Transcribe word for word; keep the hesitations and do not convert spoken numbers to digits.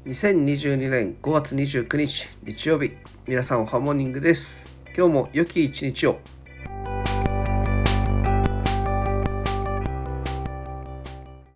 にせんにじゅうにねんごがつにじゅうくにち日曜日、皆さんおはモーニングです。今日も良き一日を。